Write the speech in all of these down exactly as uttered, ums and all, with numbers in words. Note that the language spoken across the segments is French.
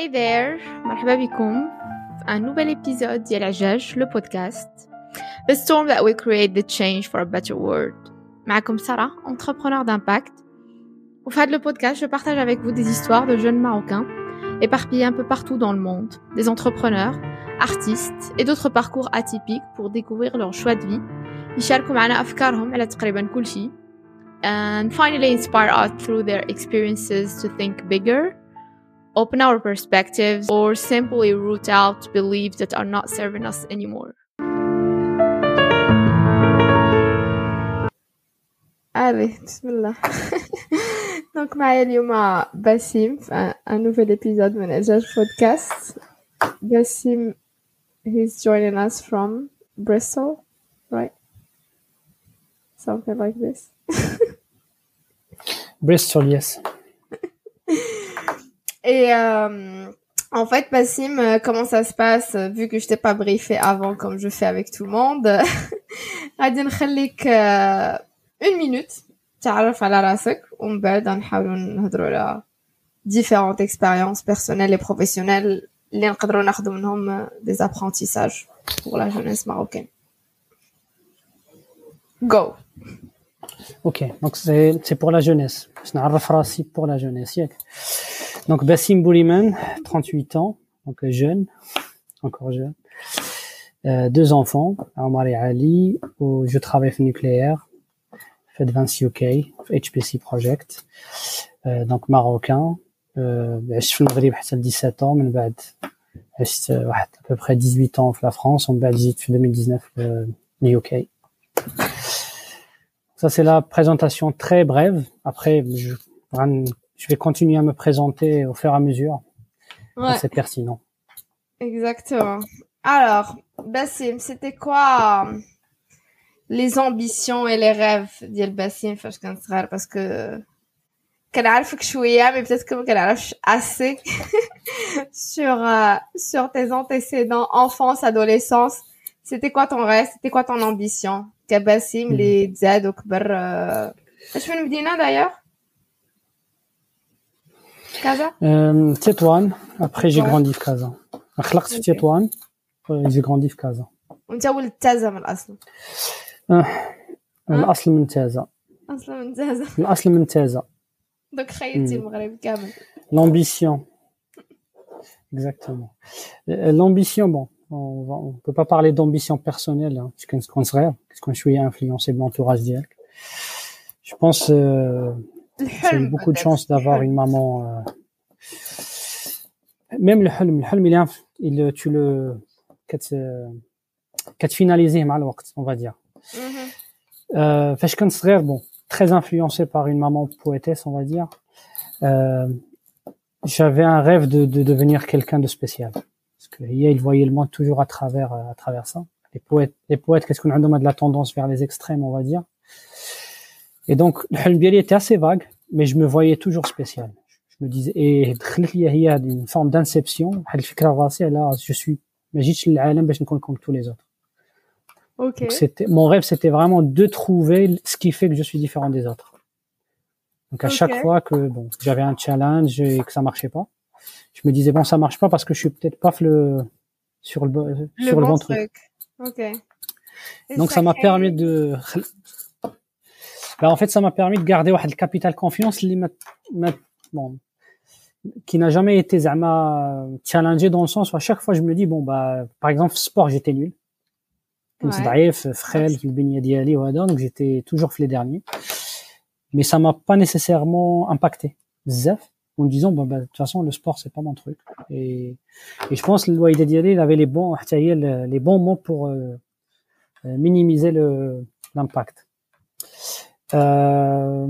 there, مرحبا بكم في un nouvel épisode ديال عجاج le podcast, the storm that will create the change for a better world. معكم سارة, entrepreneur d'impact. Au fin de le podcast, je partage avec vous des histoires de jeunes Marocains éparpillés un peu partout dans le monde, des entrepreneurs, artistes et d'autres parcours atypiques pour découvrir leur choix de vie. يشاركوا معنا أفكارهم على تقريبا كل شيء, and finally inspire us through their experiences to think bigger, open our perspectives, or simply root out beliefs that are not serving us anymore. Allez, bismillah. Donc, معايا اليوم باسم في un nouvel épisode من عجاج podcast. Basim, he's joining us from Bristol, right? Something like this. Bristol, yes. Et euh, en fait, Bassim, euh, comment ça se passe, euh, vu que je t'ai pas briefé avant comme je fais avec tout le monde. غادي نخليك euh, une minute تعرف على راسك ومن بعد نحاولوا نهضروا على différentes expériences personnelles et professionnelles اللي نقدروا ناخذوا منهم des apprentissages pour la jeunesse marocaine. Go. Ok, donc c'est, c'est pour la jeunesse. Je n'arrive راسي pour la jeunesse, ياك. Donc Bassim Bouliman, trente-huit ans, donc jeune, encore jeune. Euh, deux enfants, Omar et Ali, où je travaille au nucléaire, fait Vinci U K, H P C Project, euh, donc marocain. عشت في المغرب حتى dix-sept ans, من بعد عشت واحد à peu près dix-huit ans في la France, ومن بعد جيت في deux mille dix-neuf في le U K. Ça c'est la présentation très brève. Après je Je vais continuer à me présenter au fur et à mesure. Ouais. C'est pertinent. Exactement. Alors, Bassim, c'était quoi euh, les ambitions et les rêves ديال Bassim فاش كان صغير, parce que كنعرفك شوية mais peut-être que ما كنعرفش assez sur euh, sur tes antécédents enfance, adolescence. C'était quoi ton rêve, c'était quoi ton ambition كباسم اللي تزاد وكبر اش من مدينة d'ailleurs? Casa? Euh, Tétouan. Après, j'ai ouais. grandi في Casa. خلقت في Tétouan. J'ai grandi في Casa. وانت ولد تازا من الأصل؟ أه. الأصل من تازا. أصل من تازا. الأصل من تازا. Donc خيتي المغرب كامل. L'ambition. Exactement. L'ambition, bon, on va, on peut pas parler d'ambition personnelle, hein, parce qu'on qu'on serait, parce qu'on suis influencé de l'entourage direct. Je pense. Euh, J'ai eu beaucoup de chance d'avoir une maman. Euh... Même le حلم, le حلم, il, est, il tu le, qu'à te finaliser mal le temps, on va dire. Euh, فاش كنت صغير, bon, très influencé par une maman poétesse, on va dire. Euh, j'avais un rêve de, de devenir quelqu'un de spécial. Parce que il voyait le monde toujours à travers, à travers ça. Les poètes, les poètes, qu'est-ce qu'on a de la tendance vers les extrêmes, on va dire. Et donc, le حلم ديالي était assez vague, mais je me voyais toujours spécial. Je me disais, et دخلت لي هي une forme d'inception, واحد الفكرة راسي على je suis, ما جيتش للعالم باش نكون comme tous les autres. Ok. Donc c'était, mon rêve, c'était vraiment de trouver ce qui fait que je suis différent des autres. Donc à okay. chaque fois que bon, j'avais un challenge et que ça marchait pas, je me disais bon, ça marche pas parce que je suis peut-être pas le sur le le sur bon le bon truc. truc. Ok. Et donc ça m'a crée... permis de Ben, en fait, ça m'a permis de garder واحد الكابيتال كونفيونس اللي ما ما bon qui n'a jamais été زعما challengé dans le sens où à chaque fois je me dis bon bah par exemple sport j'étais nul. كنت ضعيف فخال في البنية ديالي وهذا, donc j'étais toujours في les derniers. Mais ça m'a pas nécessairement impacté بزاف en me disant bon bah de toute façon le sport c'est pas mon truc. Et et je pense الوالدة ديالي il avait les bons حتى هي les bons mots pour euh, minimiser le l'impact. Euh,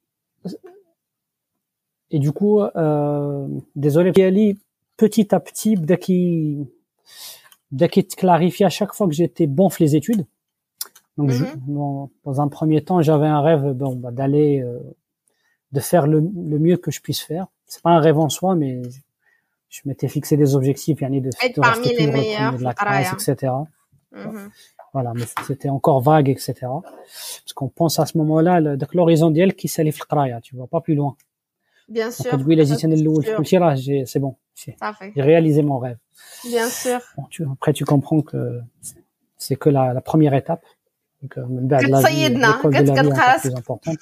et du coup, euh, désolé, petit à petit, dès qu'il, dès qu'il clarifiait à chaque fois que j'étais bon dans les études. Donc, mm-hmm. je, dans, dans un premier temps, j'avais un rêve, bon, bah, d'aller, euh, de faire le, le mieux que je puisse faire. C'est pas un rêve en soi, mais je, je m'étais fixé des objectifs, yani de, de rester toujours au premier de la classe, et cetera. Mm-hmm. Voilà, mais c'était encore vague, et cetera. Parce qu'on pense à ce moment-là, l'horizon d'elle qui s'allie le qraya, tu vois, pas plus loin. Bien sûr. Donc, oui, là, j'ai le là, j'ai, c'est bon. J'ai, j'ai réalisé mon rêve. Bien sûr. Bon, tu, après, tu comprends que c'est que la, la première étape. Donc, بعد la vie, l'école de la vie est encore plus importante.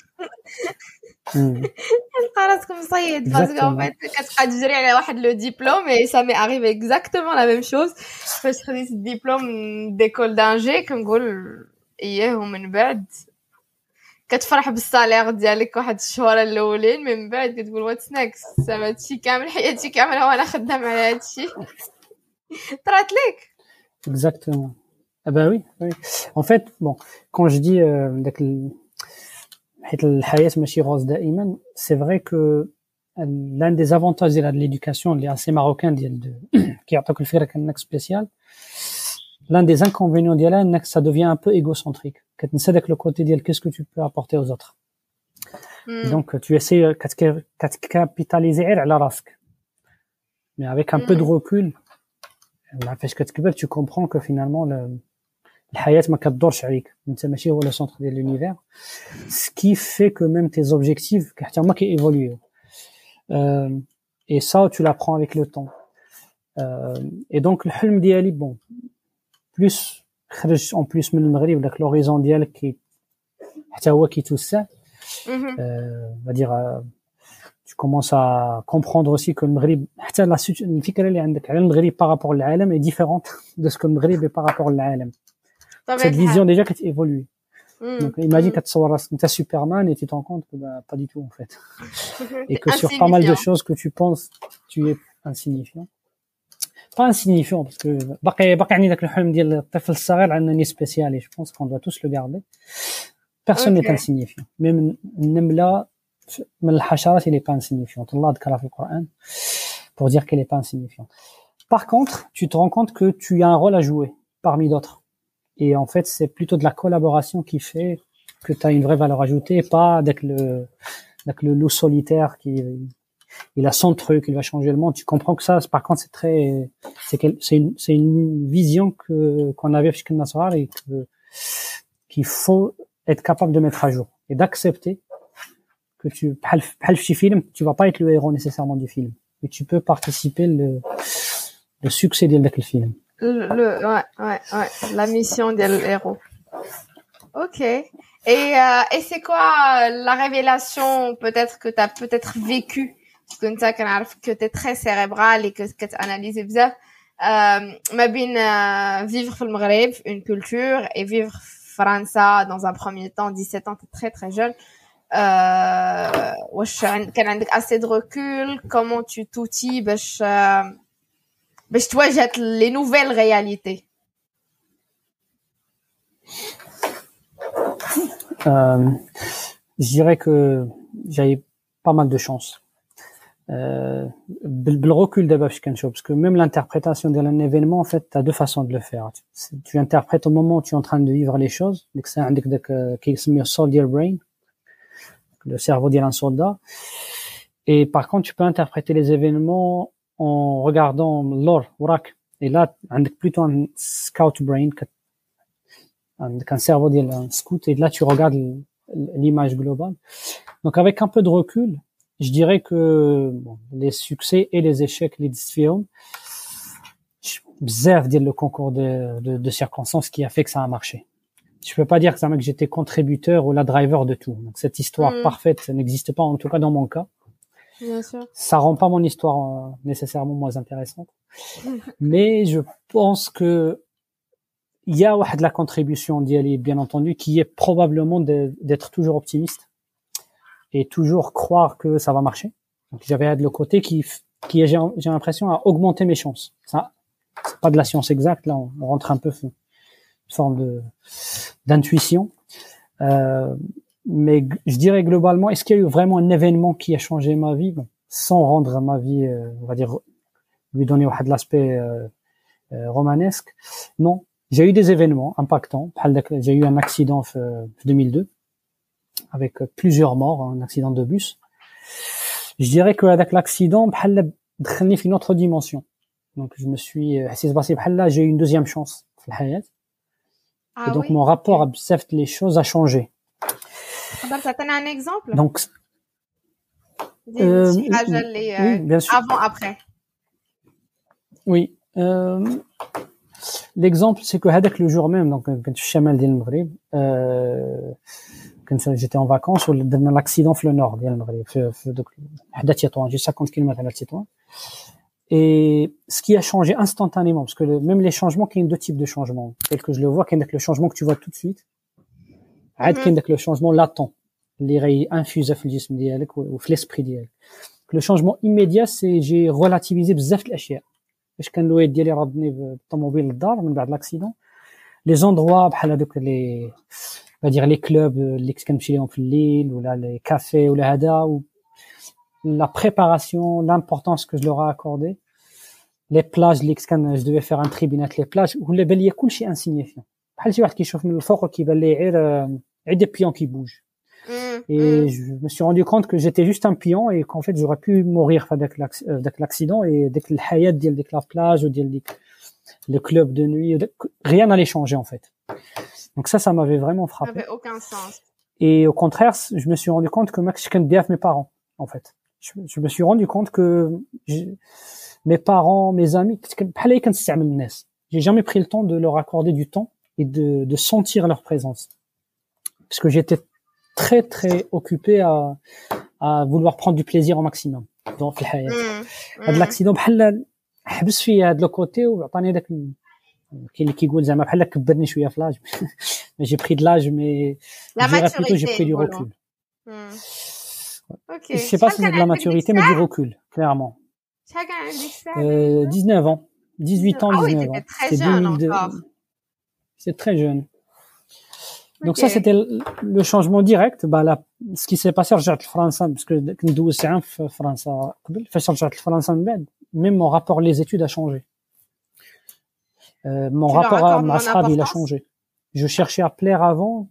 تلقى راسك مصيد باسكو en fait كتبقى تجري على واحد لو ديبلوم et ça m'est arrivé exactement la même chose فاش خديت الدبلوم ديكول دانجي كنقول اييه ومن بعد كتفرح بالصالير ديالك واحد الشهور الاولين من بعد كتقول واتس نيكست زعما هادشي كامل حياتي كامله وانا خدام على هادشي طرات ليك exactement. Ah bah oui, oui. En fait, bon, quand je dis euh, c'est vrai que l'un des avantages de l'éducation, il est assez marocain, qui a un spécial. L'un des inconvénients d'elle, ça devient un peu égocentrique. Avec le côté d'elle, qu'est-ce que tu peux apporter aux autres? Mm. Donc, tu essaies de capitaliser à la rasque. Mais avec un mm. peu de recul, tu comprends que finalement, le, الحياة ما كتدورش عليك انت ماشي هو لو سونتر ديال l'univers ce qui fait que même tes objectifs حتى هما كييفوليو euh, et ça tu l'apprends avec le temps euh, et donc الحلم ديالي bon plus خرج en plus من المغرب داك l'horizon ديالك كي حتى هو كيتوسع on va dire euh, tu commences à comprendre aussi que المغرب حتى الفكرة اللي عندك على المغرب par rapport للعالم est différente de ce que المغرب est par rapport للعالم. Cette vision déjà qui évolue. Mm. Donc imagine que tu es Superman et tu te rends compte que bah, pas du tout en fait. Et que sur pas mal de choses que tu penses, tu es insignifiant. Pas insignifiant parce que باقي باقي عندي داك الحلم ديال الطفل الصغير عندنا spécial et je pense qu'on doit tous le garder. Personne n'est insignifiant. Même النملة من الحشرات elle est pas insignifiante. Allah ذكرها في القرآن pour dire qu'elle est pas insignifiante. Par contre, tu te rends compte que tu as un rôle à jouer parmi d'autres. Et en fait, c'est plutôt de la collaboration qui fait que tu as une vraie valeur ajoutée, et pas avec le, avec le loup solitaire qui, il a son truc, il va changer le monde. Tu comprends que ça, par contre, c'est très, c'est, c'est une, c'est une vision que, qu'on avait chez Nasrar et que, qu'il faut être capable de mettre à jour et d'accepter que tu, film, tu vas pas être le héros nécessairement du film, mais tu peux participer le, le succès de le film. Le, le, ouais, ouais, ouais, la mission de l'héros. Ok. Et, euh, et c'est quoi la révélation peut-être que tu as peut-être vécu parce que tu sais que tu es très cérébral et que que tu analyses بزاف euh ما بين euh, vivre في المغرب une culture et vivre France dans un premier temps dix-sept ans tu es très très jeune euh واش كان عندك assez de recul comment tu t'outilles باش باش تواجه les nouvelles réalités. Euh, je dirais que j'avais pas mal de chance. Euh, le recul d'abord parce que même l'interprétation d'un événement en fait tu as deux façons de le faire. Tu, tu interprètes au moment où tu es en train de vivre les choses, donc c'est un qui s'appelle soldier brain, le cerveau d'un soldat. Et par contre tu peux interpréter les événements en regardant l'or وراك. Et là عندك plutôt un scout brain, un cerveau d'un scout, et là tu regardes l'image globale. Donc avec un peu de recul, je dirais que bon, les succès et les échecs, les films, bzaf dire le concours de, de, de circonstances qui a fait que ça a marché. Je peux pas dire que ça que j'étais contributeur ou la driver de tout. Donc cette histoire mmh. parfaite ça n'existe pas, en tout cas dans mon cas. Bien sûr. Ça rend pas mon histoire euh, nécessairement moins intéressante. Mais je pense que il y a de la contribution d'y aller, bien entendu, qui est probablement de, d'être toujours optimiste et toujours croire que ça va marcher. Donc j'avais de le côté qui, qui j'ai, j'ai l'impression à augmenter mes chances. Ça, c'est pas de la science exacte, là, on, on rentre un peu une forme de, d'intuition. Euh, mais je dirais globalement, est-ce qu'il y a eu vraiment un événement qui a changé ma vie, bon, sans rendre ma vie, euh, on va dire, lui donner de l'aspect euh, euh, romanesque? Non. J'ai eu des événements impactants. J'ai eu un accident en deux mille deux avec plusieurs morts, un accident de bus. Je dirais que avec l'accident, دخلني في une autre dimension. Donc je me suis, j'ai eu une deuxième chance في الحياة. Ah, et donc oui. Mon rapport à les choses a changé. Ça donne un exemple. Donc Euh, شي حاجة اللي oui, bien sûr. avant après. Oui. Euh, l'exemple, c'est que هذاك le jour même, donc كنت في الشمال ديال المغرب, euh, كنت j'étais en vacances ودرنا l'accident في le nord ديال المغرب, في في دوك حدا تطوان, j'ai cinquante kilomètres على تطوان. Et ce qui a changé instantanément, parce que le, même les changements, qu'il y a deux types de changements, tel que je le vois, qu'il y a le changement que tu vois tout de suite, عاد qu'il y a le changement latent, اللي غي infuse في الجسم ديالك وفي l'esprit ديالك. Le changement immédiat, c'est j'ai relativisé بزاف الاشياء. باش كان الوالد ديالي ردني بالطوموبيل للدار من بعد لاكسيدون. لي زوندروا بحال هذوك لي غادي لي كلوب اللي كنت كنمشي لهم في الليل ولا لي كافي ولا هذا la préparation, l'importance que je leur ai accordé, les plages اللي كان je devais faire un tri بينات les plages ولا بان لي كلشي insignifiant. بحال شي واحد كيشوف من الفوق كيبان ليه غير غير des pions qui bougent. Et je me suis rendu compte que j'étais juste un pion et qu'en fait j'aurais pu mourir avec l'accident et dès que le hayat ديال ديك la plage ou ديال le club de nuit, rien n'allait changer en fait. Donc ça, ça m'avait vraiment frappé. Ça n'avait aucun sens. Et au contraire, je me suis rendu compte que moi, je connais bien mes parents en fait. Je, je me suis rendu compte que je, mes parents, mes amis, j'ai jamais pris le temps de leur accorder du temps et de, de sentir leur présence. Parce que j'étais très très occupé à, à vouloir prendre du plaisir au maximum dans le hayat. هذا l'accident بحال حبس فيا هذا الكوتي وعطاني داك كاين اللي كيقول زعما بحال كبرني شويه في لاج mais j'ai pris de l'âge mais la maturité j'ai pris du recul. OK. Je sais pas si c'est de la maturité mais du recul clairement. Euh, dix-neuf ans, dix-huit ans, dix-neuf ans. C'est jeune encore. C'est très jeune. Donc okay. Ça c'était le changement direct. Bah là, ce qui s'est passé رجعت لفرنسا parce que ندوز عام في فرنسا قبل فاش رجعت لفرنسا من بعد même mon rapport les études a changé. Euh, mon tu rapport à ma صحابي il a changé. Je cherchais à plaire avant.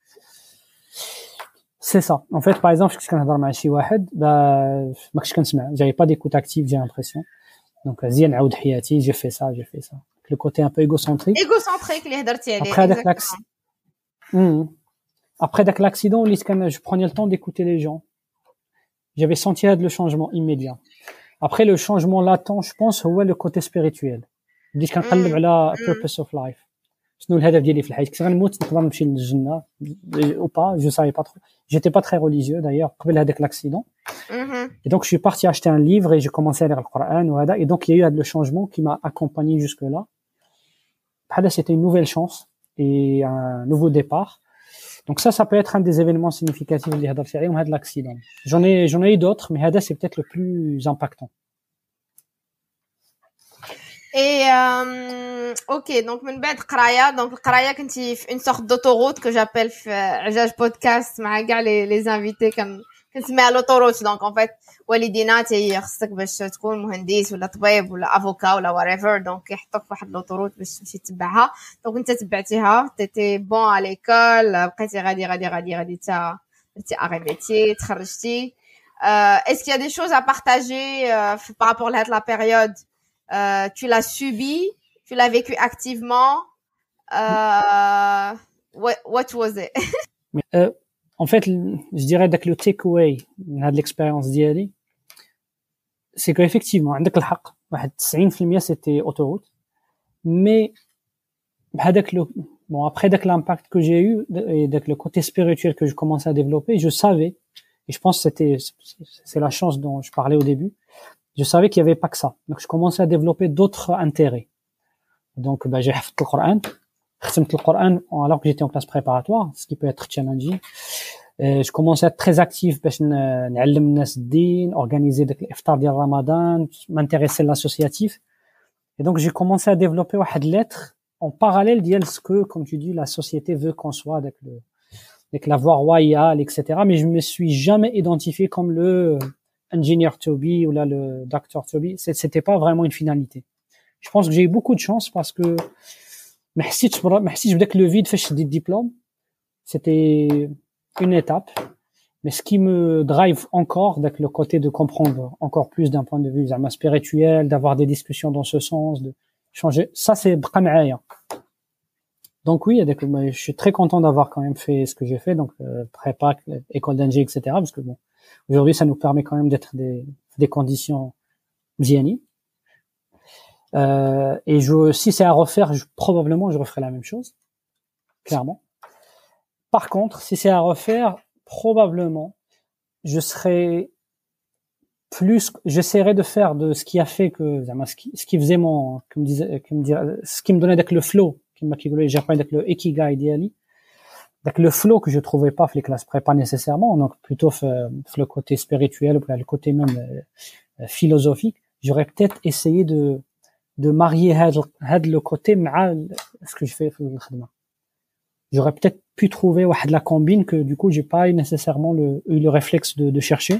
C'est ça. En fait, par exemple, je كنهضر مع شي واحد bah ما كنتش كنسمع, j'avais pas d'écoute active, j'ai l'impression. Donc زين نعاود حياتي, j'ai fait ça, j'ai fait ça. Le côté un peu égocentrique. Égocentrique اللي هضرتي عليه. Après avec l'accident. Mmh. Après avec l'accident, je prenais le temps d'écouter les gens. J'avais senti le changement immédiat. Après le changement latent, je pense, c'est le côté spirituel. بديت كنقلب على purpose of life. شنو الهدف ديالي في الحياة؟ كنت غنموت نقدر نمشي للجنة ou pas, je savais pas trop. J'étais pas très religieux d'ailleurs قبل هذاك l'accident. Et donc je suis parti acheter un livre et j'ai commencé à lire le Coran وهذا et donc il y a eu le changement qui m'a accompagné jusque là. بحال c'était une nouvelle chance et un nouveau départ. Donc ça, ça peut être un des événements significatifs اللي هضرت عليهم هذا l'accident. J'en ai, j'en ai eu d'autres, mais هذا c'est peut-être le plus impactant. Et euh, ok, donc من بعد قرايه, donc القرايه كنتي في une sorte d'autoroute que j'appelle في عجاج بودكاست مع كاع les les invités كن كنسميها l'autoroute. donc en fait والدينا تي خصك باش تكون مهندس ولا طبيب ولا افوكا ولا whatever, donc يحطوك في واحد l'autoroute باش تمشي تتبعها. donc انت تبعتيها, تيتي بون على ليكول, بقيتي غادي غادي غادي غادي تا درتي اغي ميتي, تخرجتي. euh, est-ce qu'il y a des choses à partager euh, par rapport à la période? Euh, tu l'as subi, tu l'as vécu activement. Euh, what, what was it? euh, en fait, je dirais que le takeaway de l'expérience d'Yali, c'est qu'effectivement, عندك الحق, واحد تسعين في المية c'était autoroute, mais بهذاك le bon après dès que l'impact que j'ai eu et dès que le côté spirituel que je commençais à développer, je savais, et je pense que c'était c'est la chance dont je parlais au début. Je savais qu'il y avait pas que ça. Donc, je commençais à développer d'autres intérêts. Donc, bah, j'ai fait le Coran. J'ai fait le Coran alors que j'étais en classe préparatoire, ce qui peut être challenging. Et je commençais à être très actif باش نعلم الناس الدين, organiser l'iftar ديال Ramadan, m'intéresser à l'associatif. Et donc, j'ai commencé à développer واحد lettre en parallèle ديال ce que, comme tu dis, la société veut qu'on soit avec le, avec la voie royale, et cetera. Mais je me suis jamais identifié comme le engineer to be ou là le doctor to be. C'était pas vraiment une finalité. Je pense que j'ai eu beaucoup de chance parce que ما حسيتش ما حسيتش بداك le vide فاش شديت diplôme. C'était une étape. Mais ce qui me drive encore, avec le côté de comprendre encore plus d'un point de vue spirituel, d'avoir des discussions dans ce sens, de changer, ça c'est بقى معايا. Donc oui, je suis très content d'avoir quand même fait ce que j'ai fait, donc euh, prépa, école d'ingé, et cetera. Parce que bon, Aujourd'hui, ça nous permet quand même d'être des, des conditions mziani. Euh, et je, si c'est à refaire, je, probablement, je referai la même chose. Clairement. Par contre, si c'est à refaire, probablement, je serai plus, j'essaierai de faire de ce qui a fait que, ce qui, ce qui faisait mon, comme disait, comme dire, ce qui me donnait avec le flow, qui m'a qui j'ai pas avec le ikigai d'Ali, avec le flow que je trouvais pas les classes prépa nécessairement, donc plutôt le côté spirituel, le côté même euh, philosophique, j'aurais peut-être essayé de, de marier had le côté à ce que je fais dans le khadma. J'aurais peut-être pu trouver de la combine que du coup j'ai pas eu nécessairement le, eu le réflexe de, de chercher.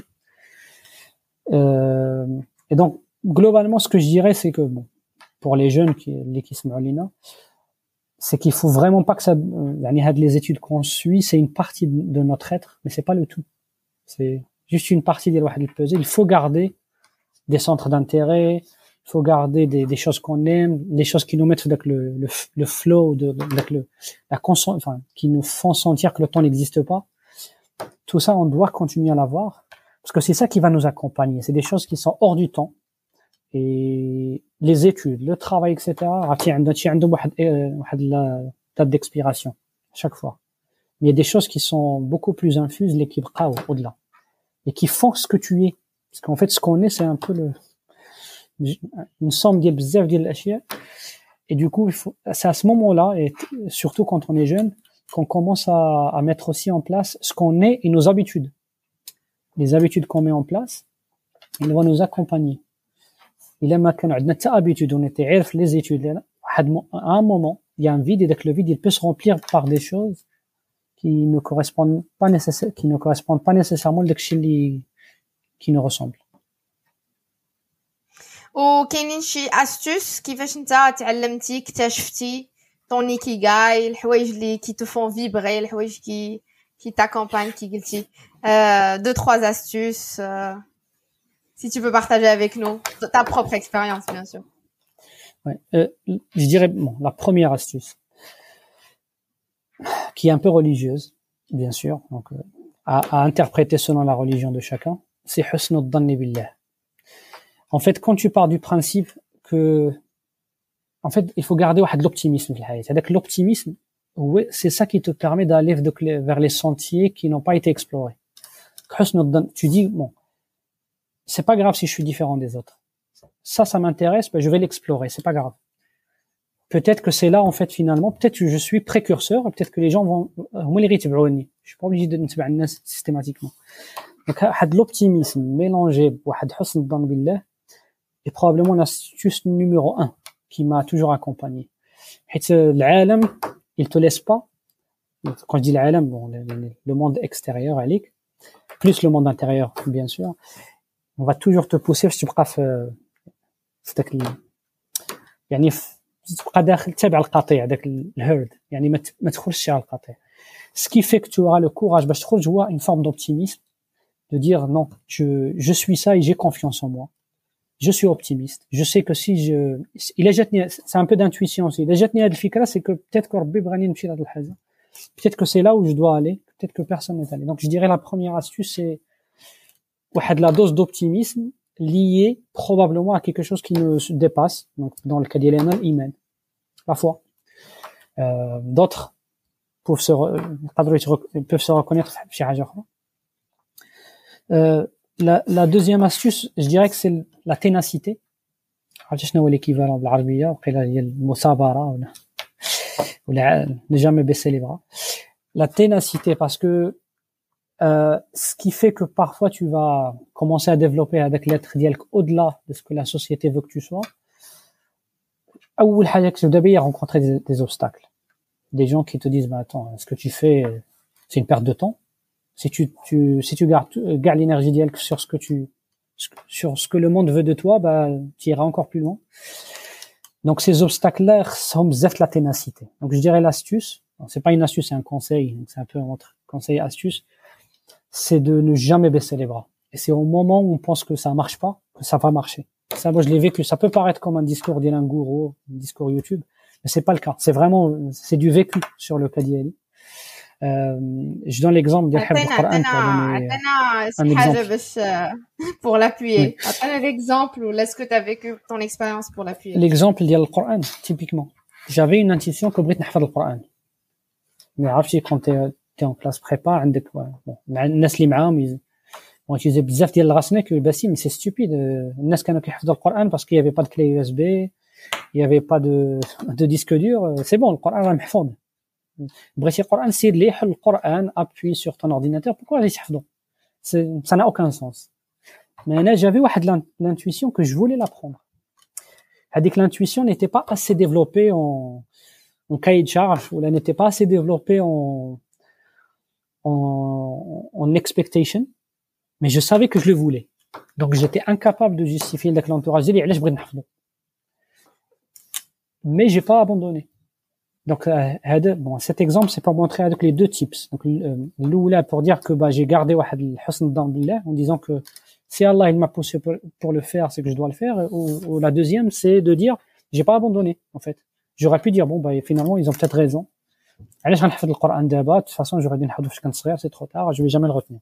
Euh, et donc globalement ce que je dirais c'est que bon, pour les jeunes qui les qui se m'alina, c'est qu'il faut vraiment pas que ça euh, les études qu'on suit c'est une partie de, de notre être mais c'est pas le tout. C'est juste une partie de le puzzle. Il faut garder des centres d'intérêt, il faut garder des, des choses qu'on aime, des choses qui nous mettent avec le, le, le flow, de, avec le, la conscience, enfin, qui nous font sentir que le temps n'existe pas. Tout ça, on doit continuer à l'avoir, parce que c'est ça qui va nous accompagner. C'est des choses qui sont hors du temps. Et les études, le travail, et cetera, il y a une date d'expiration, chaque fois. Mais il y a des choses qui sont beaucoup plus infuses, l'équipe au-delà. Et qui font ce que tu es. Parce qu'en fait, ce qu'on est, c'est un peu le, une somme de bzaf de l'achia. Et du coup, il faut, c'est à ce moment-là, et surtout quand on est jeune, qu'on commence à, à mettre aussi en place ce qu'on est et nos habitudes. Les habitudes qu'on met en place, ils vont nous accompagner. Il a quand on a ta habitude, on était عارف les études là, à un moment, il y a un vide et le vide, il peut se remplir par des choses qui ne correspondent pas nécessairement, qui ne correspondent pas nécessairement à ce qui nous ressemble. وكاينين شي astuces كيفاش نتا تعلمتي اكتشفتي طون ايكيغاي الحوايج اللي كي تفون فيبري الحوايج كي كي t'accompagnent كي قلتي euh, deux trois astuces euh, si tu peux partager avec nous ta propre expérience bien sûr. Ouais, euh, je dirais bon, la première astuce qui est un peu religieuse bien sûr donc euh, à, à interpréter selon la religion de chacun, c'est husn al-dhann billah. En fait, quand tu pars du principe que, en fait, il faut garder de l'optimisme. C'est-à-dire que l'optimisme, oui, c'est ça qui te permet d'aller vers les sentiers qui n'ont pas été explorés. Tu dis, bon, c'est pas grave si je suis différent des autres. Ça, ça m'intéresse, ben je vais l'explorer, c'est pas grave. Peut-être que c'est là, en fait, finalement, peut-être que je suis précurseur, peut-être que les gens vont, je suis pas obligé de me systématiquement. Donc, had l'optimisme mélangé avec husn al-dhann billah est probablement l'astuce numéro un qui m'a toujours accompagné. L'âlam, il te laisse pas, quand je dis l'âlam, bon, le, le, le monde extérieur, alik, plus le monde intérieur, bien sûr, on va toujours te pousser, si tu prends, c'est que, يعني تبقى داخل تابع القطيع داك الهيرد يعني ما ما تخرجش على القطيع. Ce qui fait que tu auras le courage باش تخرج هو une forme d'optimisme de dire non, je je suis ça et j'ai confiance en moi. Je suis optimiste. Je sais que si je il a جاتني c'est un peu d'intuition aussi. Il a جاتني هذه الفكرة c'est que peut-être que ربي بغاني نمشي لهاد الحاجة. Peut-être que c'est là où je dois aller, peut-être que personne n'est allé. Donc je dirais la première astuce c'est واحد la dose d'optimisme liée probablement à quelque chose qui nous dépasse. Donc dans le cas de l'iman, la foi. Euh, d'autres peuvent se peuvent se reconnaître في حاجة أخرى. Euh, la, la deuxième astuce, je dirais que c'est la ténacité. عرفت شنو هو l'équivalent بالعربية وقيل هي المثابرة ولا ولا ne jamais baisser les bras. La ténacité parce que euh, ce qui fait que parfois tu vas commencer à développer avec l'être ديالك au-delà de ce que la société veut que tu sois. أول حاجة que tu dois rencontrer des, des obstacles. Des gens qui te disent bah attends, ce que tu fais c'est une perte de temps. Si tu, tu, si tu gardes, gardes l'énergie d'elle sur ce que tu, sur ce que le monde veut de toi, bah, tu iras encore plus loin. Donc, ces obstacles-là sont bzaf la ténacité. Donc, je dirais l'astuce. C'est pas une astuce, c'est un conseil. C'est un peu entre conseil et astuce. C'est de ne jamais baisser les bras. Et c'est au moment où on pense que ça marche pas, que ça va marcher. Ça, moi, je l'ai vécu. Ça peut paraître comme un discours d'un gourou, un discours YouTube, mais c'est pas le cas. C'est vraiment, c'est du vécu sur le cas d'Yali. je donne l'exemple de حفظ القرآن un exemple pour l'appuyer. Attends l'exemple ou est-ce que tu as vécu ton expérience pour l'appuyer? L'exemple ديال القرآن typiquement. J'avais une intuition que بغيت نحفظ القرآن. Mais عرفتي quand tu es en classe prépa عندك bon مع الناس اللي معاهم on utilisait بزاف ديال الغاسنيك باسم c'est stupide. الناس كانوا كيحفظوا القرآن parce qu'il y avait pas de clé U S B, il y avait pas de de disque dur, c'est bon القرآن راه محفوظ. بغيتي القرآن سير لي حل القرآن appuie sur ton ordinateur, pourquoi غادي تحفظو؟ ça n'a aucun sens. Mais là j'avais واحد l'intuition que je voulais l'apprendre. هذيك l'intuition n'était pas assez développée en en cahier de charge ou elle n'était pas assez développée en en en expectation, mais je savais que je le voulais. Donc j'étais incapable de justifier لك l'entourage ديالي علاش بغيت نحفظو. Mais j'ai pas abandonné. Donc هذا bon cet exemple c'est pour montrer avec les deux types. Donc الاولى pour dire que bah j'ai gardé واحد الحسن الظن بالله en disant que si Allah il m'a poussé pour, pour le faire, c'est que je dois le faire. Ou, ou la deuxième c'est de dire j'ai pas abandonné en fait. J'aurais pu dire bon bah finalement ils ont peut-être raison. علاش غنحفظ القرآن دابا؟ De toute façon j'aurais dû نحفظو فاش كنت صغير, c'est trop tard, je vais jamais le retenir.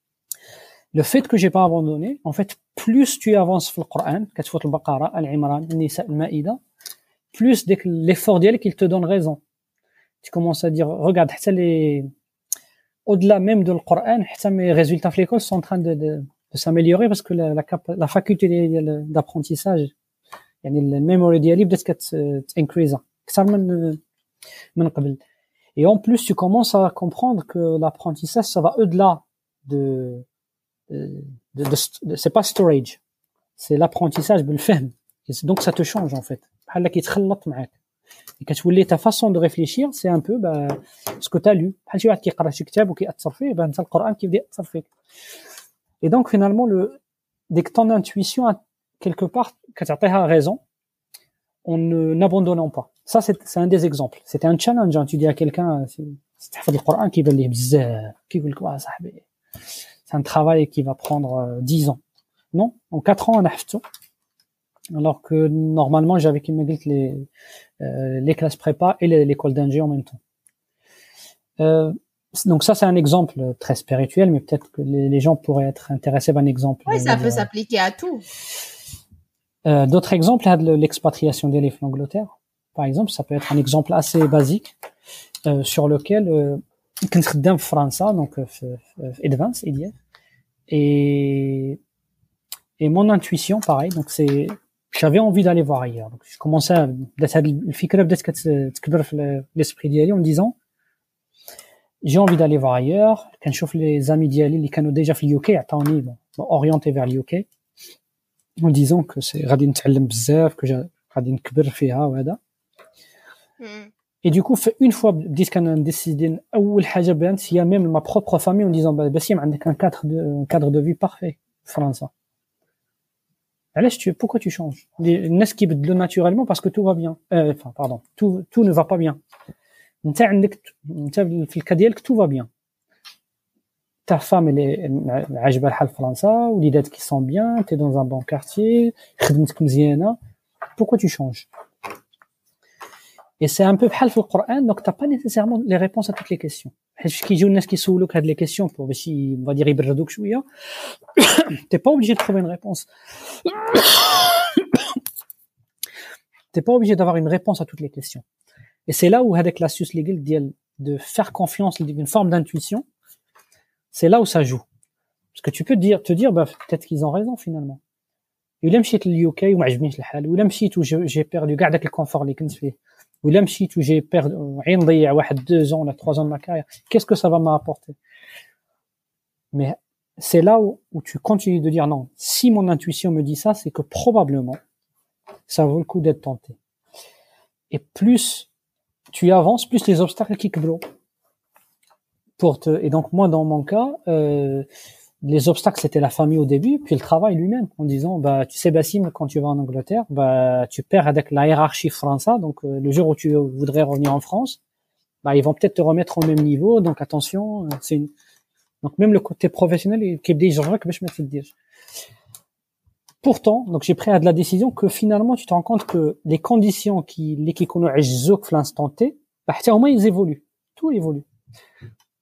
Le fait que j'ai pas abandonné, en fait, plus tu avances في القرآن, كتفوت البقرة, العمران, النساء, المائدة, plus dès que l'effort ديالك il te donne raison. Tu commences à dire regarde حتى les au-delà même de le Coran, حتى mes résultats في l'école sont en train de de, de s'améliorer parce que la la, la faculté d'apprentissage يعني الميموري ديالي بدات كتانكريزا اكثر من من قبل. Et en plus tu commences à comprendre que l'apprentissage ça va au-delà de de, de, de, de c'est pas storage, c'est l'apprentissage بالفهم. Donc ça te change en fait. بحال كيتخلط معاك. Et كتولي ta façon de réfléchir c'est un peu bah ce que tu as lu. بحال شي واحد كيقرا شي كتاب وكيأثر فيه bah انت القرآن كيبدا يأثر فيك. Et donc finalement le dès que ton intuition a quelque part كتعطيها raison, on ne n'abandonnons pas. Ça c'est c'est un des exemples. C'était un challenge. Tu dis à quelqu'un si تحفظ القرآن كيبان ليه بزاف كيقول لك واه صاحبي c'est un travail qui va prendre dix ans. Non, en quatre ans on a حفظته. Alors que normalement j'avais qui me dit les euh, les classes prépa et les, l'école d'ingé en même temps. Euh, donc ça c'est un exemple très spirituel, mais peut-être que les, les gens pourraient être intéressés par un exemple. Oui, ça peut euh, s'appliquer à tout. Euh, d'autres exemples, l'expatriation des livres en Angleterre, par exemple, ça peut être un exemple assez basique euh, sur lequel كنت خدام في فرنسا, donc في Advance إدياف, et et mon intuition pareil, donc c'est j'avais envie d'aller voir ailleurs. Donc je commençais à بدات هاد الفكره بدات كتكبر في l'esprit ديالي en disant j'ai envie d'aller voir ailleurs. كنشوف les amis ديالي اللي كانوا déjà في اليو كي عطاوني orienté vers اليو كي en disant que c'est غادي نتعلم بزاف, que غادي نكبر فيها وهذا. Et du coup une fois بديت كنديسيدي اول حاجه بانت هي même ma propre famille en disant باسم عندك un cadre de un cadre de vie parfait في فرنسا. علاش tu pourquoi tu changes? الناس كيبدلوا naturellement parce que tout va bien. euh, enfin pardon, tout tout ne va pas bien. انت عندك انت في الكا ديالك tout va bien. Ta femme elle est عاجبها الحال في فرنسا, وليداتك qui sont bien, tu es dans un bon quartier, خدمتك مزيانه. Pourquoi tu changes? Et c'est un peu بحال في القرآن, donc t'as pas nécessairement les réponses à toutes les questions. حيت كيجيو الناس كيسولوك هاد les questions pour باش on va dire يبردوك شويه. T'es pas obligé de trouver une réponse. T'es pas obligé d'avoir une réponse à toutes les questions. Et c'est là où avec l'astuce légale de faire confiance, une forme d'intuition, c'est là où ça joue. Parce que tu peux te dire, te dire, bah, peut-être qu'ils ont raison finalement. ولا مشيت لليو كي وما عجبنيش الحال, ولا مشيت وجي perdu كاع داك الكونفور اللي كنت فيه, ولا مشيت وجي perdu عين نضيع واحد deux ans ولا trois ans de ma carrière. Qu'est-ce que ça va m'apporter? Mais c'est là où, où tu continues de dire non. Si mon intuition me dit ça, c'est que probablement ça vaut le coup d'être tenté. Et plus tu avances, plus les obstacles qui kibrou. Pour te et donc moi dans mon cas, euh, les obstacles c'était la famille au début, puis le travail lui-même en disant bah tu sais Bassim, quand tu vas en Angleterre, bah tu perds avec la hiérarchie française, donc euh, le jour où tu voudrais revenir en France, bah ils vont peut-être te remettre au même niveau, donc attention, c'est une donc même le côté professionnel qui dit genre que je me fais dire. Pourtant, donc j'ai pris à de la décision que finalement tu te rends compte que les conditions qui les qui connaissent عجزوك في l'instant T, bah حتى هما ils évoluent, tout évolue.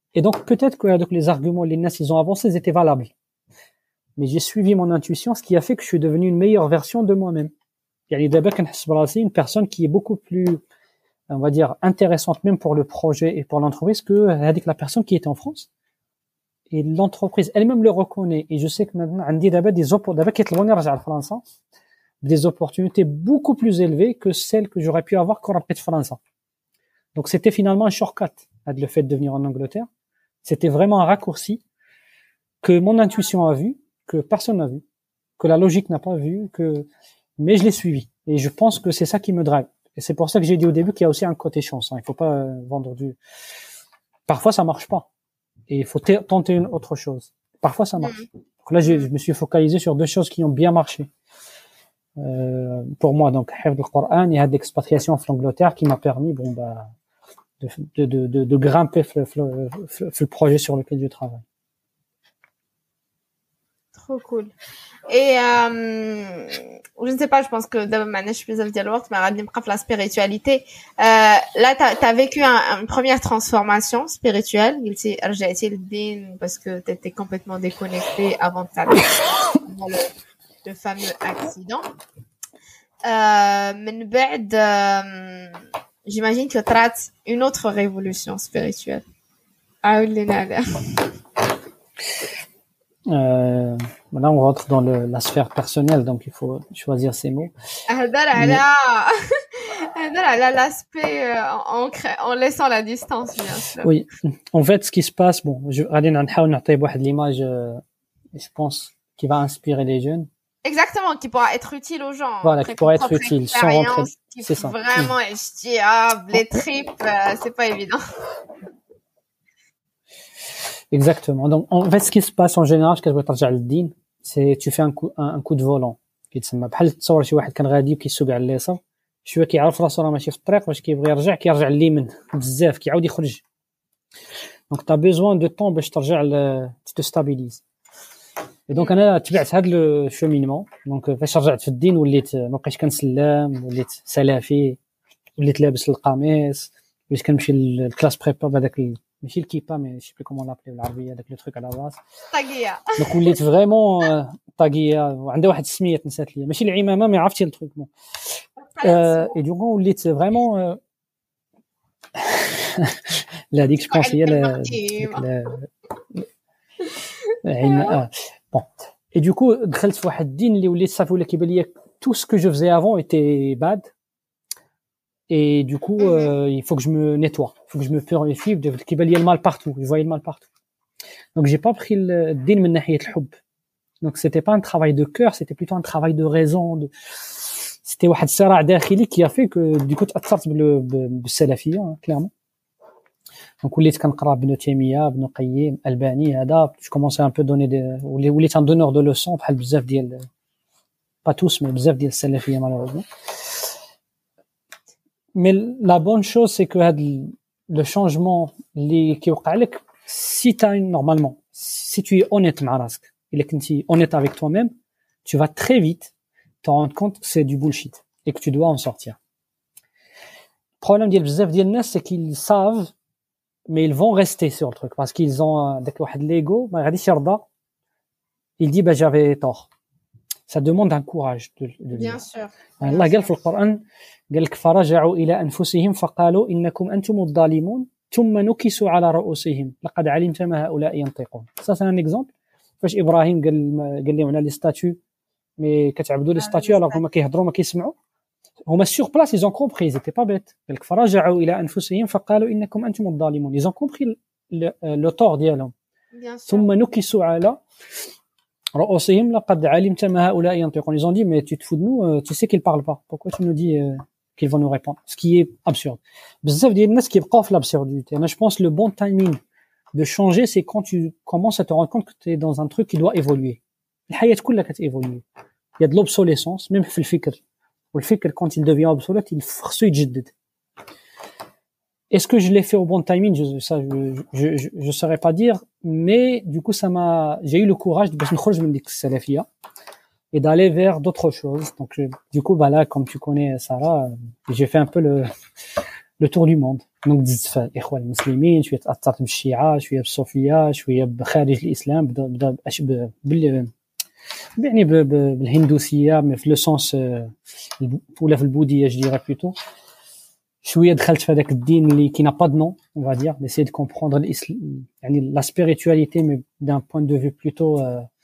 Et donc, peut-être que donc, les arguments, les nas, ils ont avancé, ils étaient valables. Mais j'ai suivi mon intuition, ce qui a fait que je suis devenu une meilleure version de moi-même. Il y a d'abord une personne qui est beaucoup plus, on va dire, intéressante même pour le projet et pour l'entreprise que avec la personne qui était en France. Et l'entreprise elle-même le reconnaît. Et je sais que maintenant, on dit d'abord des opportunités, des opportunités beaucoup plus élevées que celles que j'aurais pu avoir quand j'étais France. Donc c'était finalement un shortcut, le fait de venir en Angleterre. C'était vraiment un raccourci que mon intuition a vu, que personne n'a vu, que la logique n'a pas vu, que mais je l'ai suivi. Et je pense que c'est ça qui me drive. Et c'est pour ça que j'ai dit au début qu'il y a aussi un côté chance. Hein. Il faut pas euh, vendre du. Parfois ça marche pas, et il faut t- tenter une autre chose. Parfois ça marche. Donc là, j'ai, je me suis focalisé sur deux choses qui ont bien marché euh, pour moi. Donc, Hifd al-Qur'an et l'expatriation en Angleterre qui m'a permis, bon bah, de de de de, de grimper le, le, le, le projet sur lequel je travaille. Trop cool. Et euh, je ne sais pas, je pense que d'abord maintenant je suis plus de l'autre, mais à la spiritualité. Euh, là, t'as as vécu un, une première transformation spirituelle. Il s'est rejoué le din parce que t'étais complètement déconnecté avant de t'arriver le, le fameux accident. Euh, من بعد, euh, j'imagine que tu rates une autre révolution spirituelle. Ah oui, Euh, là, on rentre dans le, la sphère personnelle, donc il faut choisir ses mots. Mais... l'aspect euh, en, en laissant la distance, bien sûr. Oui, en fait, ce qui se passe, bon, je vais essayer l'image, euh, je pense, qui va inspirer les jeunes. Exactement, qui pourra être utile aux gens. Voilà, qui pourra être utile, sans rentrer. C'est ça. Vraiment, mmh. ijtihad, les tripes, euh, c'est pas évident. Exactement. Donc, en fait, ce qui se passe en général, je vais t'arrêter le din, c'est tu fais un coup, un, un coup de volant. qui تسمى بحال تصور شي واحد كان غادي وكيسوق على اليسار شويه كيعرف راسو راه ماشي في الطريق باش كيبغي يرجع كيرجع لليمين بزاف كيعاود يخرج. دونك تا بيزوان دو طون باش ترجع ل تو ستابيليز. Et donc انا تبعت هذا لو شومينمون. دونك فاش رجعت في الدين وليت ما بقيتش كنسلم وليت سلافي وليت لابس القميص وليت كنمشي للكلاس بريبا بهذاك ماشي الكيبا مي شي بلي كومون لابلي بالعربيه داك لو تروك على الراس طاقيه. دونك وليت فريمون طاقيه وعندها واحد السميه نسات ليا ماشي العمامه مي عرفتي التروك بون اي دونك وليت فريمون لا ديك جو بونس هي لا لا بون اي دوكو دخلت في واحد الدين اللي وليت صافي ولا كيبان ليا tout ce que je faisais avant était bad. Et du coup, euh, il faut que je me nettoie, il faut que je me purifie, qu'il y ait le mal partout, je voyais le mal partout. Donc j'ai pas pris le din min nahiyat al-hubb. Donc c'était pas un travail de cœur, c'était plutôt un travail de raison, de c'était واحد صراع داخلي qui a fait que du coup تأثرت بال بالسلفية clairement. Donc وليت كنقرا ابن تيمية, ابن قيم, الباني هذا, je commençais un peu donner des وليت un donneur de leçons بحال بزاف ديال pas tous mais بزاف ديال السلفية malheureusement. Mais la bonne chose, c'est que le changement qui est si tu as une, normalement, si tu es honnête et que tu es honnête avec toi-même, tu vas très vite te rendre compte que c'est du bullshit et que tu dois en sortir. Le problème ديال بزاف ديال الناس c'est qu'ils savent mais ils vont rester sur le truc parce qu'ils ont داك واحد l'ego ما غاديش يرضى. Il dit bah j'avais tort. Ça demande un courage de, de bien dire. Sûr. Allah قال في القرآن قال لك فرجعوا إلى أنفسهم فقالوا إنكم أنتم الظالمون ثم نكسوا على رؤوسهم لقد علمت ما هؤلاء ينطقون. Ça c'est un exemple. فاش إبراهيم قال قال لهم على لي ستاتيو مي كتعبدوا لي ستاتيو alors هما كيهضروا ما كيسمعوا هما sur place ils ont compris ils étaient pas bêtes. قال لك فرجعوا إلى أنفسهم فقالوا إنكم أنتم الظالمون. Ils ont compris le, le tort ديالهم. ثم نكسوا على رؤوسهم لقد علمت ما هؤلاء ينطقون. Ils ont dit mais tu te fous de nous, tu sais qu'ils parlent pas. Pourquoi tu nous dis euh, qu'ils vont nous répondre? Ce qui est absurde. بزاف ديال الناس كيبقاو في l'absurdité. Moi je pense le bon timing de changer c'est quand tu commences à te rendre compte que tu es dans un truc qui doit évoluer. الحياة كلها كتévoluer. Il y a de l'obsolescence même في الفكر. والفكر quand il devient obsolète il خصو يتجدد. Est-ce que je l'ai fait au bon timing? Je, ça, je, je, je, je saurais pas dire, mais du coup, ça m'a, j'ai eu le courage de sortir de la salafia et d'aller vers d'autres choses. Donc, je, du coup, bah là, comme tu connais Sarah, j'ai fait un peu le, le tour du monde. دونك دزت في الاخوان المسلمين شويه تاثرت بالشيعه شويه بالصوفيه شويه بخارج الاسلام بدا بدا بال يعني بالهندوسيه مي في لو سونس ولا في البوذيه جو ديرا بلوتو شويه دخلت في هذاك الدين اللي كي نا با دو نون on va dire d'essayer de comprendre l'islam يعني la spiritualité mais d'un point de vue plutôt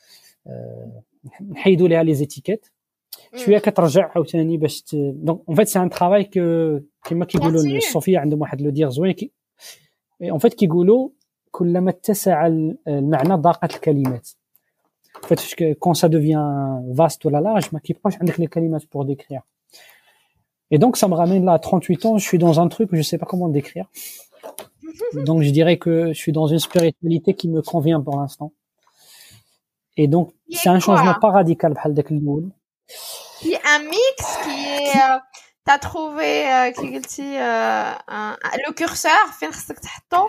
نحيدوا ليها لي زيتيكيت شويه كترجع عاوتاني باش دونك اون فيت سي ان ترافاي كو كما كيقولوا الصوفيه عندهم واحد لو دير زوين كي اون فيت كيقولوا كلما اتسع المعنى ضاقت الكلمات فاش كون سا دوفيان فاست ولا لارج ما كيبقاش عندك لي كلمات بور ديكرير et donc ça me ramène là à trente-huit ans je suis dans un truc que je sais pas comment décrire donc je dirais que je suis dans une spiritualité qui me convient pour l'instant et donc c'est un changement pas radical بحال داك الاول. Il y a un mix qui est euh, t'as trouvé euh, qui قلتي euh, un, le curseur فين خصك تحطو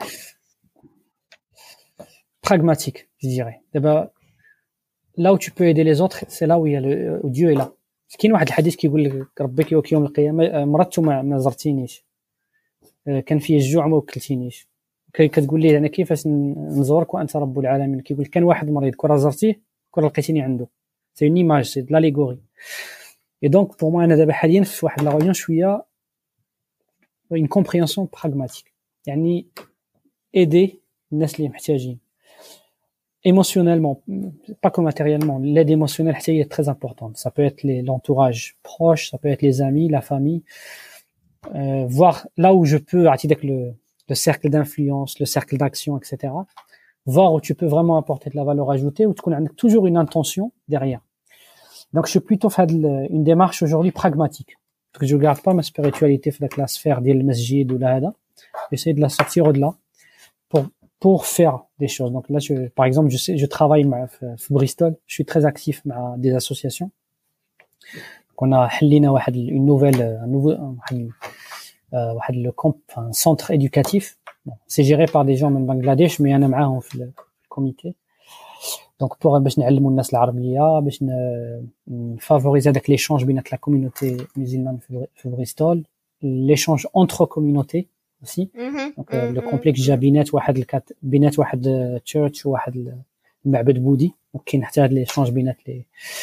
pragmatique je dirais d'abord là où tu peux aider les autres c'est là où il y a le où Dieu est là كاين واحد الحديث كيقول لك ربك يوك يوم القيامه مرضت ما زرتينيش كان في الجوع ما وكلتينيش كتقول لي انا كيفاش نزورك وانت رب العالمين كيقول كان واحد مريض كره زرتيه كره لقيتيني عنده سي اون ايماج سي لاليغوري et donc pour moi انا دابا حاليا في واحد لا ريون شويه une compréhension pragmatique يعني aider الناس اللي محتاجين émotionnellement pas que matériellement l'aide émotionnelle est très importante ça peut être les, l'entourage proche ça peut être les amis la famille euh, voir là où je peux avec le le cercle d'influence le cercle d'action etc voir où tu peux vraiment apporter de la valeur ajoutée où tu connais toujours une intention derrière donc je suis plutôt fait une démarche aujourd'hui pragmatique parce que je garde pas ma spiritualité dans la sphère de masjid ou là j'essaie de la sortir au-delà pour pour faire des choses. Donc là, je, par exemple, je sais, je travaille à Bristol. Je suis très actif avec des associations. Donc on a حلينا واحد une nouvelle, un nouveau, واحد, واحد le comp, un centre éducatif. Bon, c'est géré par des gens من Bangladesh, mais أنا معاهم في le comité. Donc pour باش نعلموا الناس العربية, باش favoriser avec l'échange بين la communauté musulmane في Bristol, l'échange entre communautés. aussi mm-hmm. donc euh, le complexe جا بينات واحد الكات بينات واحد تشيرش وواحد المعبد بوذي وكاين حتى هاد ليشونج بينات لي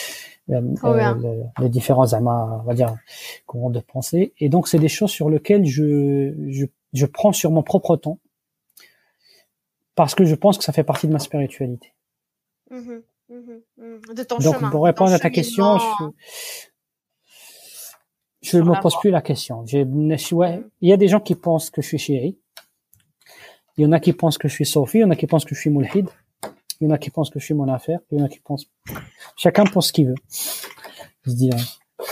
les différents زعما on va dire courants de pensée et donc c'est des choses sur lesquelles je je je prends sur mon propre temps parce que je pense que ça fait partie de ma spiritualité. Mm-hmm. Mm-hmm. De ton donc chemin, pour répondre à ta question je Je ne me pose plus la question. J'ai, ouais, il y a des gens qui pensent que je suis chiite. Il y en a qui pensent que je suis sofi. Il y en a qui pensent que je suis mulhid. Il y en a qui pensent que je suis mon affaire. Il y en a qui pensent, chacun pense ce qu'il veut. Je dirais.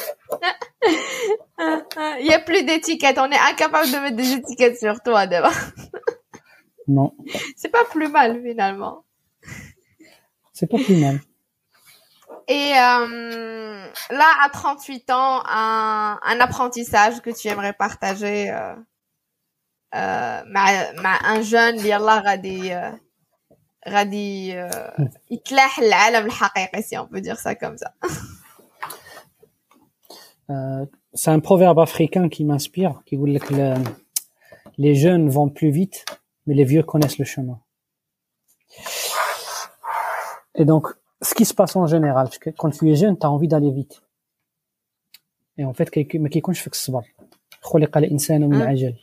Il y a plus d'étiquettes. On est incapable de mettre des étiquettes sur toi, d'abord. Non. C'est pas plus mal, finalement. C'est pas plus mal. Et euh, là, à trente-huit ans, un, un apprentissage que tu aimerais partager euh, euh, مع, مع un jeune اللي يلا غادي غادي يتلاح العالم الحقيقي si on peut dire ça comme ça. Euh, c'est un proverbe africain qui m'inspire, qui dit que le, les jeunes vont plus vite, mais les vieux connaissent le chemin. Et donc, ce qui se passe en général, parce que quand tu es jeune, tu as envie d'aller vite. Et en fait, ما كيكونش فيك الصبر. خلق الإنسان من عجل.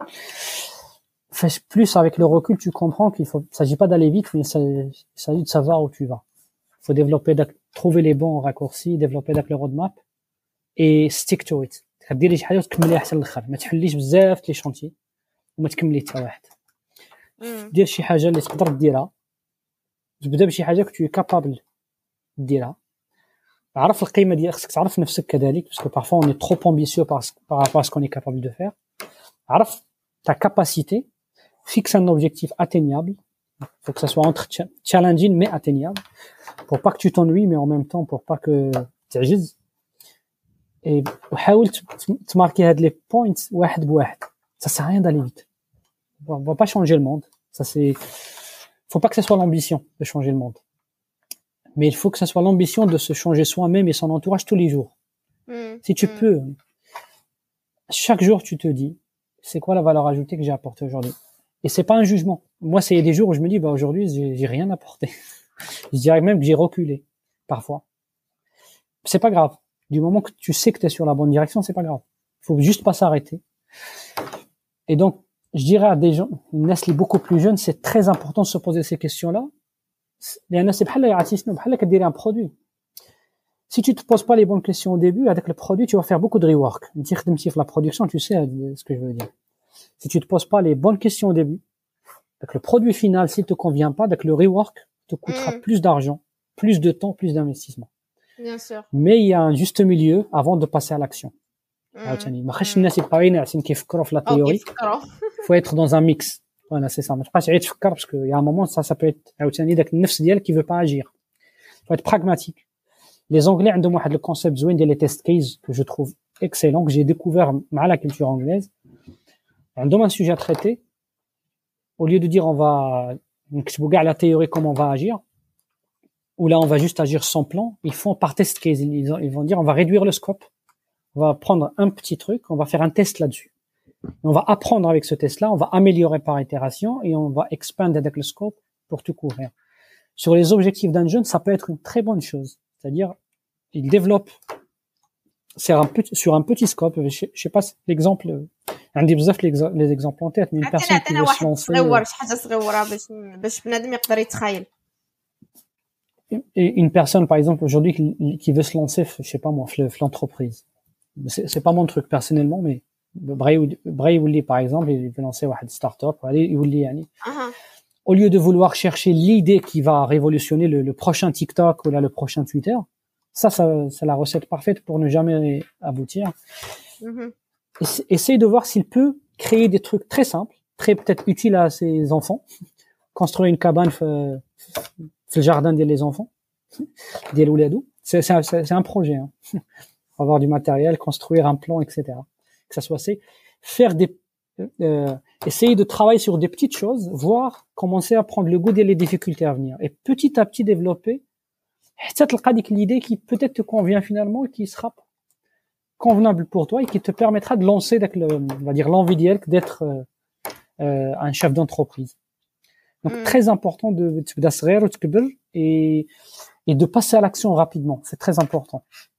Plus avec le recul, tu comprends qu'il faut, il s'agit pas d'aller vite, mais il s'agit de savoir où tu vas. Il faut développer, trouver les bons raccourcis, développer le roadmap et stick to it. تديري شي حاجة وتكمليها حتى للآخر. ما تحليش بزاف لي شونتي وما تكملي حتى واحد. دير شي حاجة اللي تقدر ديرها. تبدا بشي حاجة que tu es capable ديرها. عرف القيمة ديالك، خصك تعرف نفسك كذلك parce que parfois on est trop ambitieux par, par rapport à ce qu'on est capable de faire. عرف ta capacité, fixe un objectif atteignable. Il faut que ça soit entre challenging mais atteignable pour pas que tu t'ennuies mais en même temps pour pas que تعجز. Et حاول تماركي هاد les points واحد بواحد. Ça sert à rien d'aller vite. On va pas changer le monde. Ça c'est faut pas que ce soit l'ambition de changer le monde. Mais il faut que ça soit l'ambition de se changer soi-même et son entourage tous les jours. Mmh. Si tu mmh. peux, chaque jour tu te dis, c'est quoi la valeur ajoutée que j'ai apportée aujourd'hui. Et c'est pas un jugement. Moi, c'est des jours où je me dis, bah aujourd'hui, j'ai, j'ai rien apporté. Je dirais même que j'ai reculé parfois. C'est pas grave. Du moment que tu sais que tu es sur la bonne direction, c'est pas grave. Faut juste pas s'arrêter. Et donc, je dirais à des gens, une Nestlé beaucoup plus jeune, c'est très important de se poser ces questions-là. لأن c'est بحال يعطينا بحال كدير un produit. Si tu te poses pas les bonnes questions au début, avec le produit, tu vas faire beaucoup de rework. Tu خدمتي في la production, tu sais ce que je veux dire. Si tu te poses pas les bonnes questions au début, avec le produit final, s'il te convient pas, avec le rework, te coûtera mm. plus d'argent, plus de temps, plus d'investissement. Bien sûr. Mais il y a un juste milieu avant de passer à l'action. عاوتاني ما خاصش الناس يبقاو ناعسين كيفكروا في لا تيوري. faut être dans un mix. Voilà, c'est ça. ما تبقاش عيد تفكر parce que il y a un moment ça ça peut être عاوتاني داك النفس ديالك qui veut pas agir. faut être pragmatique. Les Anglais عندهم واحد le concept زوين ديال les test cases que je trouve excellent que j'ai découvert مع la culture anglaise. عندهم un sujet à traiter. Au lieu de dire on va نكتبوا كاع la théorie comment on va agir, ou là on va juste agir sans plan, ils font par test case. Ils, ils vont dire on va réduire le scope, on va prendre un petit truc, on va faire un test là-dessus. Et on va apprendre avec ce test-là, on va améliorer par itération et on va expander avec le scope pour tout couvrir. Sur les objectifs d'un jeune, ça peut être une très bonne chose. C'est-à-dire, il développe sur un petit, sur un petit scope. Je, je sais pas l'exemple, un des بزاف les exemples en tête, mais une personne qui veut se lancer. Et une personne, par exemple, aujourd'hui, qui, qui veut se lancer, je sais pas moi, l'entreprise. C'est, c'est pas mon truc personnellement, mais Bray Wouli, par exemple, il veut lancer une start-up. Uh-huh. Au lieu de vouloir chercher l'idée qui va révolutionner le, le prochain TikTok ou là, le prochain Twitter, ça, ça, c'est la recette parfaite pour ne jamais aboutir. Uh-huh. Essaye de voir s'il peut créer des trucs très simples, très peut-être utiles à ses enfants. Construire une cabane euh, c'est le jardin des enfants, des louladou. C'est, c'est, c'est, c'est un projet. Hein. Avoir du matériel, construire un plan, et cetera. Que ça soit assez. Faire des, euh, essayer de travailler sur des petites choses, voire commencer à prendre le goût des difficultés à venir. Et petit à petit développer, peut-être l'idée qui peut-être te convient finalement, qui sera convenable pour toi et qui te permettra de lancer, le, on va dire, l'envie d'être euh, euh, un chef d'entreprise. Donc, mm. très important de, de et, et de passer à l'action rapidement. C'est très important.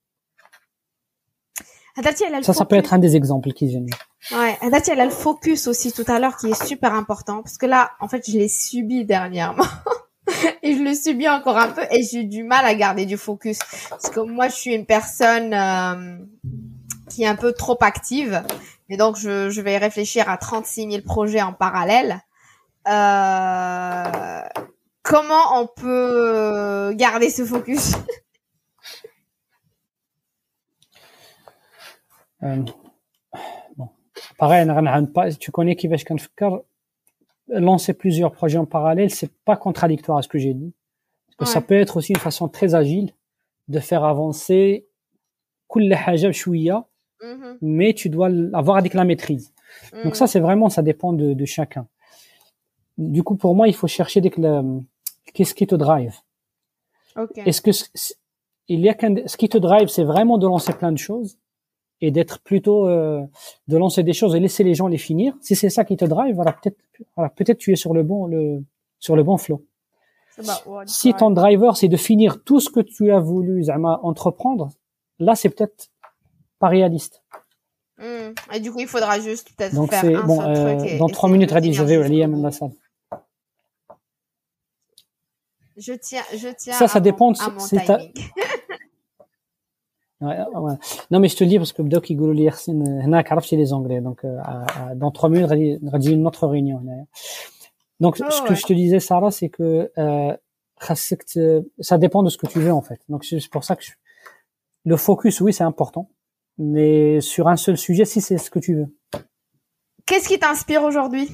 Ça, ça peut être un des exemples qui viennent. Ouais, Hadati, elle a le focus aussi tout à l'heure qui est super important parce que là, en fait, je l'ai subi dernièrement et je le subis encore un peu et j'ai du mal à garder du focus parce que moi, je suis une personne euh, qui est un peu trop active et donc je, je vais réfléchir à trente-six mille projets en parallèle. Euh, comment on peut garder ce focus? euh, bon, pareil, tu connais qui va se lancer plusieurs projets en parallèle, c'est pas contradictoire à ce que j'ai dit. Parce que ouais. Ça peut être aussi une façon très agile de faire avancer كل حاجة بشوية, mm-hmm. mais tu dois avoir avec la maîtrise. Mm. Donc ça, c'est vraiment, ça dépend de, de chacun. Du coup, pour moi, il faut chercher dès que le, qu'est-ce qui te drive. Okay. Est-ce que il y a qu'un, ce qui te drive, c'est vraiment de lancer plein de choses et d'être plutôt euh, de lancer des choses et laisser les gens les finir. Si c'est ça qui te drive, voilà, peut-être, voilà, peut-être tu es sur le bon, le, sur le bon flow. Si ton driver, c'est de finir tout ce que tu as voulu zama, entreprendre, là, c'est peut-être pas réaliste. Mmh. Et du coup, il faudra juste peut-être donc faire un bon, seul euh, truc. Et, dans trois minutes, Radi, je vais au Liam la salle. Je tiens, je tiens ça, ça à, dépend mon, à mon timing. Ta... ouais, ouais. Non, mais je te le dis parce que Bdouk, il goulou li Yassine, هناك عرفتي les Anglais. Donc, euh, dans trois minutes, Radi, une autre réunion. Donc, oh, ce que ouais. je te disais, Sarah, c'est que euh, ça dépend de ce que tu veux, en fait. Donc, c'est pour ça que je... le focus, oui, c'est important. Mais sur un seul sujet, si c'est ce que tu veux. Qu'est-ce qui t'inspire aujourd'hui?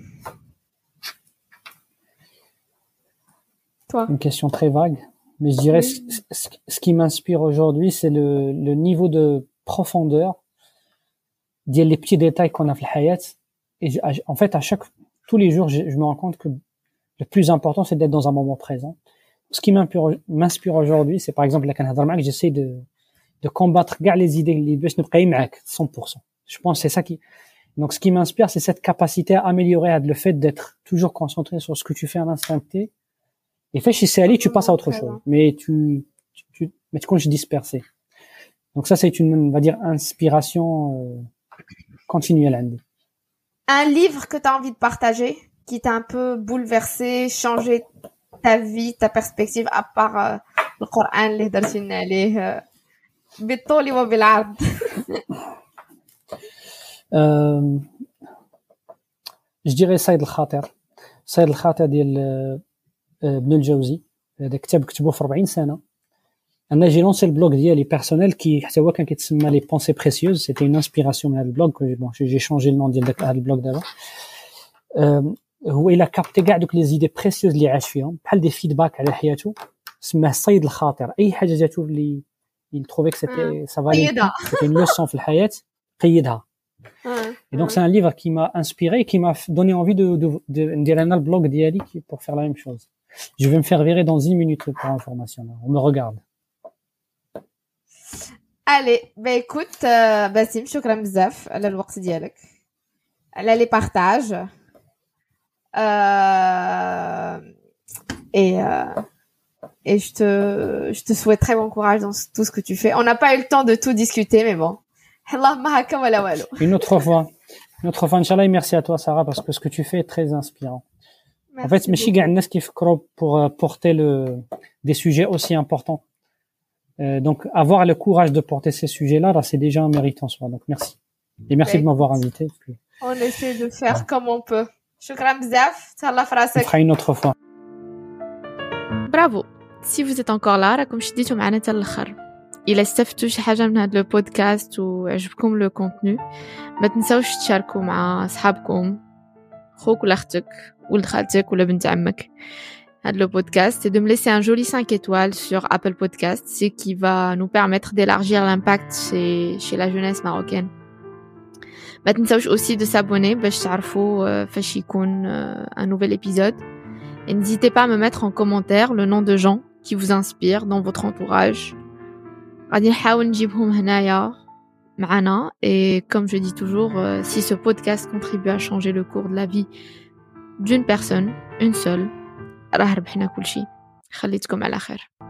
Toi? Une question très vague. Mais je dirais, oui. ce, ce qui m'inspire aujourd'hui, c'est le, le niveau de profondeur, des petits détails qu'on a fait la hayat. Et je, en fait, à chaque, tous les jours, je, je me rends compte que le plus important, c'est d'être dans un moment présent. Ce qui m'inspire aujourd'hui, c'est par exemple, la Canada, j'essaie de, de combattre gars les idées, les bêches ne cent pour cent. Je pense que c'est ça qui, Donc, ce qui m'inspire, c'est cette capacité à améliorer, le fait d'être toujours concentré sur ce que tu fais à l'instant T. Et fait, chez Sally, tu passes à autre chose. Mais tu, tu, tu, mais tu continues dispersé. Donc ça, c'est une, on va dire, inspiration euh, continuelle. Un livre que tu as envie de partager, qui t'a un peu bouleversé, changé ta vie, ta perspective, à part euh, le Coran, les darsin عليه بالطول وبالعرض. Euh, je dirais Saïd al-Khatir. Saïd al-Khatir ديال ابن الجوزي. هذا كتاب كتبوه في أربعين سنة. انا جي لونسي البلوغ ديالي بيرسونيل كي حتى هو كان كيتسمى لي بونسي بريسيوز. سيتي اون انسبيراسيون من هذا البلوغ. بون جي شونجي النون ديال داك هذا البلوغ دابا. هو الى كابتي كاع دوك لي زيدي بريسيوز اللي عاش فيهم بحال دي فيدباك على حياته. سماه الصيد الخاطر. اي حاجه جاتو اللي il trouvait que c'était ça valait c'était une leçon في الحياه قيدها. Et donc c'est un livre qui m'a inspiré, qui m'a donné envie de de de ندير انا البلوغ ديالي pour faire la même chose. Je vais me faire virer dans dix minutes pour information. On me regarde. Allez, bah écoute, euh, Bassim, شكرا بزاف على الوقت ديالك على les partages euh, et euh, et je te je te souhaite très bon courage dans tout ce que tu fais. On n'a pas eu le temps de tout discuter, mais bon. Une autre fois, une autre fois, Inch'Allah, et merci à toi, Sarah, parce que ce que tu fais est très inspirant. Merci en fait, ماشي كاع الناس كيفكروا pour porter le des sujets aussi importants. Euh, donc, avoir le courage de porter ces sujets-là, là, c'est déjà un mérite en soi. Donc, merci. Et merci ouais. de m'avoir invité. Puis... On essaie de faire ouais. comme on peut. Shukran bzaf. Talla frasek. On fera une autre fois. Bravo. Si vous êtes encore là, راكم شديتوا معنا حتى الاخر. إلا استفدتوا شي حاجة من هذا البودكاست وعجبكم لو كونتوني ما تنساوش تشاركوا مع أصحابكم خوك ولا أختك ولد خالتك ولا بنت عمك هذا le podcast et de me laisser un joli cinq étoiles sur Apple Podcast, ce qui va nous permettre d'élargir l'impact chez, chez la jeunesse marocaine. ما تنساوش aussi de s'abonner باش تعرفوا فاش يكون un nouvel épisode. Et n'hésitez pas à me mettre en commentaire le nom de gens qui vous inspirent dans votre entourage. غادي نحاول نجيبهم هنايا معنا. Et comme je dis toujours, euh, si ce podcast contribue à changer le cours de la vie d'une personne, une seule, راه ربحنا كل شيء. خليتكم على خير.